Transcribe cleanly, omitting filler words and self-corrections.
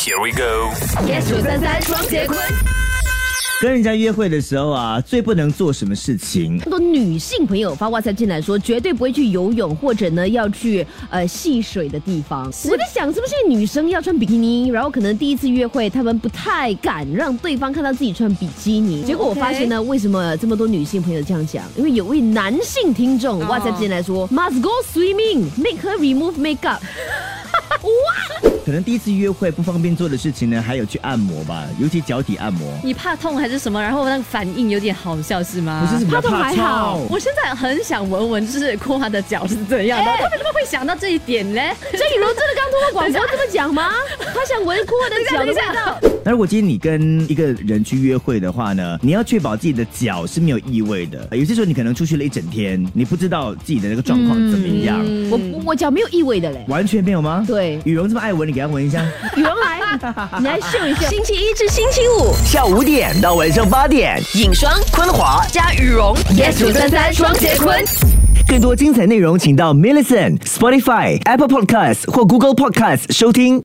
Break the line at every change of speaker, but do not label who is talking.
Here we go。
Yes 933双节棍。
跟人家约会的时候啊，最不能做什么事情？
很多女性朋友发WhatsApp进来说，绝对不会去游泳，或者呢要去戏水的地方。我在想，是不是女生要穿比基尼，然后可能第一次约会，她们不太敢让对方看到自己穿比基尼。结果我发现呢，为什么这么多女性朋友这样讲？因为有位男性听众WhatsApp进来说，Must go swimming, make her remove makeup。哇！
可能第一次约会不方便做的事情呢，还有去按摩吧，尤其脚底按摩。
你怕痛还是什么？然后那个反应有点好笑是吗？
不是，比较怕
还好
痛。
我现在很想闻闻，就是cô花的脚是怎样的。他为什么会想到这一点呢？
郑雨柔真的刚通过广播这么讲吗？他想闻cô花的脚的味道。
那如果今天你跟一个人去约会的话呢，你要确保自己的脚是没有异味的。有些时候你可能出去了一整天，你不知道自己的那个状况怎么样。
我脚没有异味的嘞，
完全没有吗？
对，
羽绒这么爱闻，你给他闻一下。
羽绒来，你来秀一秀。
星期一至星期五
下午5点到晚上8点，
影双
昆华。
加羽绒
Yes 933双节棍。
更多精彩内容，请到 Millicent、Spotify、Apple Podcasts 或 Google Podcasts 收听。